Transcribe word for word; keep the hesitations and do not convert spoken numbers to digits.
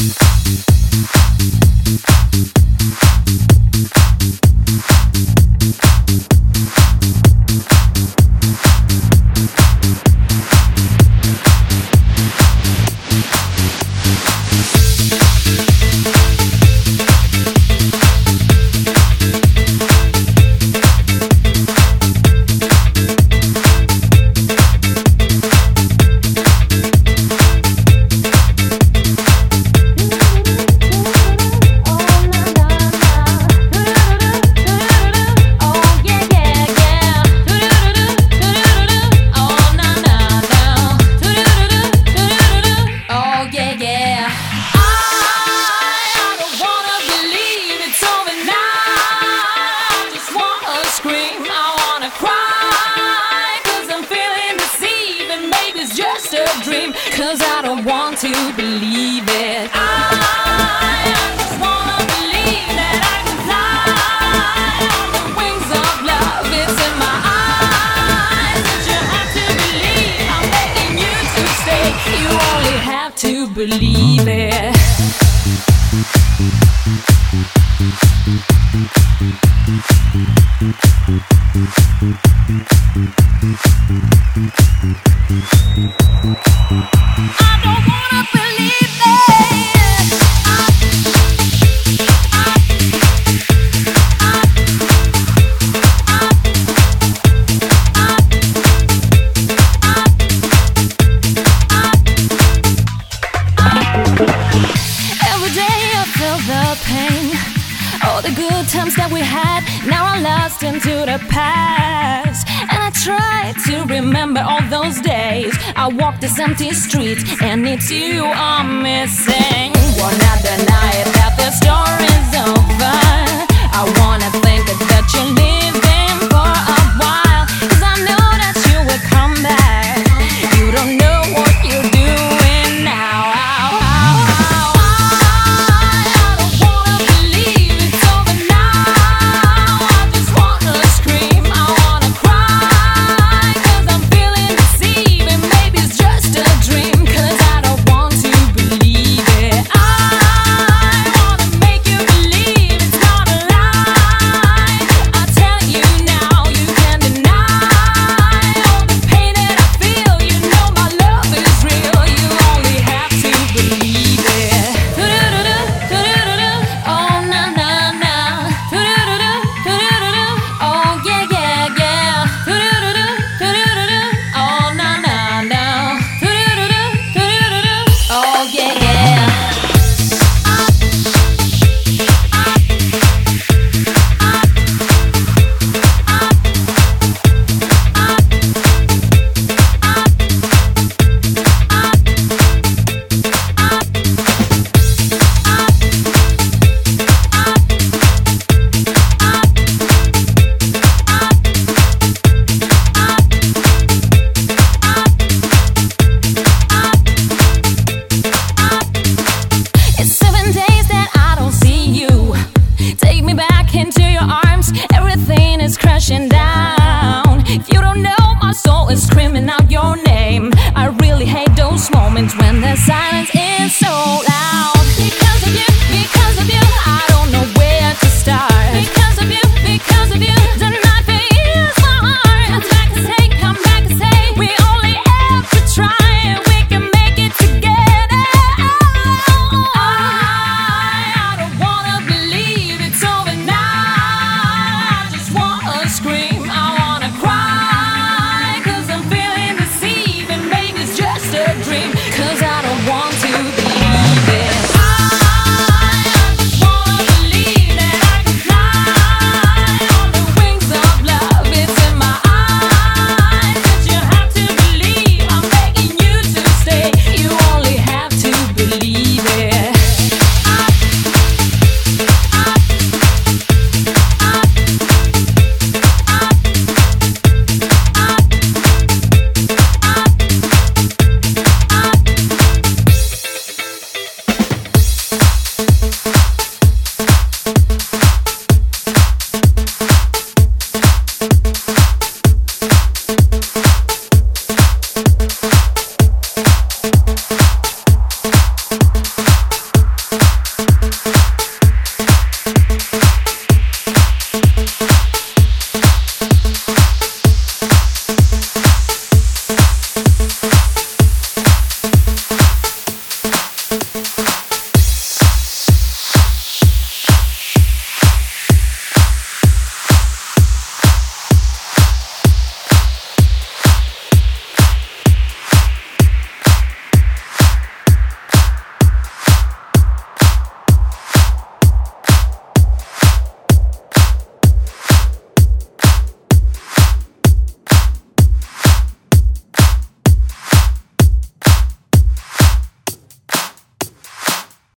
'Cause I don't want to believe it. I just wanna believe that I can fly on the wings of love. It's in my eyes, but you have to believe I'm begging you to stay. You only have to believe it. I don't wanna believe it. I, I, I, every day I feel the pain. All the good times that we had, now I'm lost into the past. And I try to remember all those days I walked this empty street, and it's you I'm missing.